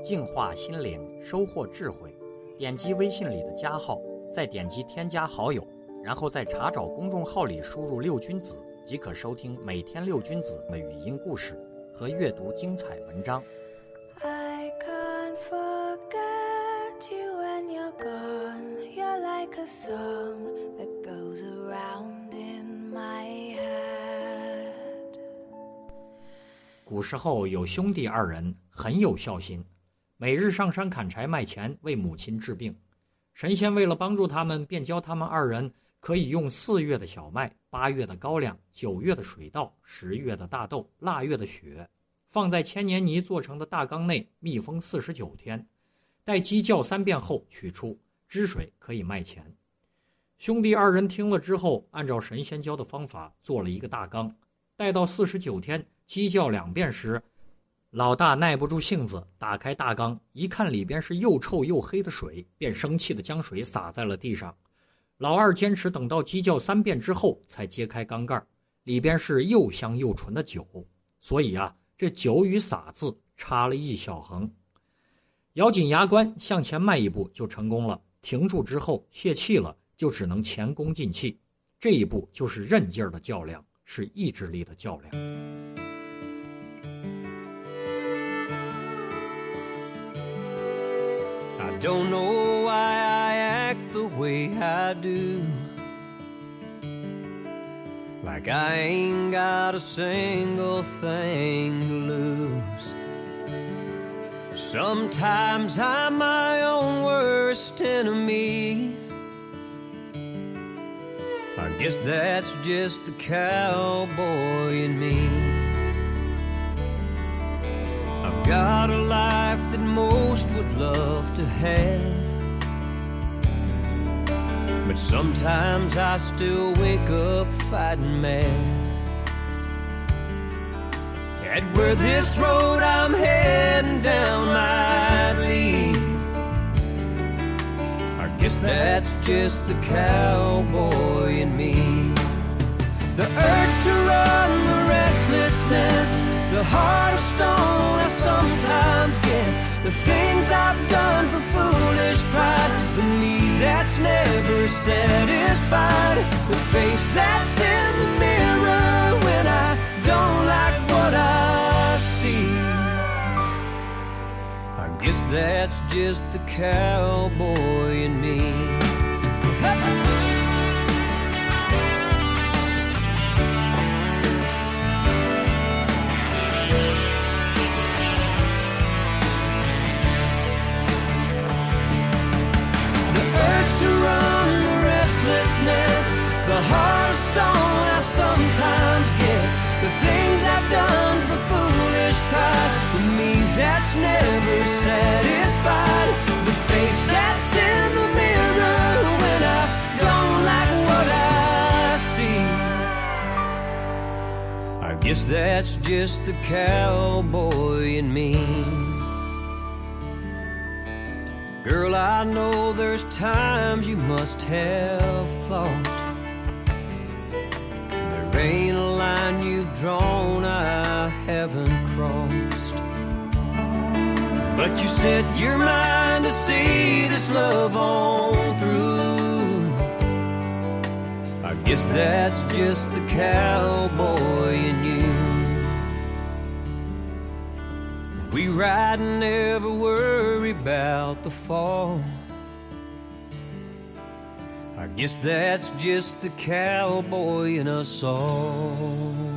净化心灵，收获智慧。点击微信里的加号，再点击添加好友，然后在查找公众号里输入六君子，即可收听每天六君子的语音故事和阅读精彩文章。 I can't forget you when you're gone. You're like a song that goes around in my head. 古时候有兄弟二人，很有孝心，每日上山砍柴卖钱，为母亲治病。神仙为了帮助他们，便教他们二人可以用4月的小麦、8月的高粱、9月的水稻、10月的大豆、腊月的雪，放在千年泥做成的大缸内密封49天，待鸡叫3遍后取出，汁水可以卖钱。兄弟二人听了之后，按照神仙教的方法做了一个大缸，待到49天鸡叫2遍时，老大耐不住性子，打开大缸，一看里边是又臭又黑的水，便生气地将水洒在了地上。老二坚持等到鸡叫3遍之后才揭开缸盖，里边是又香又纯的酒，所以这酒与洒字插了一小横。咬紧牙关向前迈一步就成功了，停住之后泄气了，就只能前功尽弃。这一步就是韧劲儿的较量，是意志力的较量。 I don't know why I act the way I do, like I ain't got a single thing to lose. Sometimes I'm my own worst enemy. I guess that's just the cowboy in me. I've got a life that most would love to have, but sometimes I still wake up fighting mad. At where this road I'm heading down might lead, I guess that's just the cowboy in me. The urge to run, the restlessness, the heart of stone I sometimes get, the things I've done for foolish pride, the me that's never satisfied, the face that's in the mirror when I don't like what I see. I guess that's just the cowboy in me. The heart of stone I sometimes get, the things I've done for foolish pride, the me that's never satisfied, the face that's in the mirror when I don't like what I see. I guess that's just the cowboy in me. Girl, I know there's times you must have thought there ain't a line you've drawn I haven't crossed, but you set your mind to see this love on through. I guess that's just the cowboy in you. We ride and never worry about the fall, I guess that's just the cowboy in us all.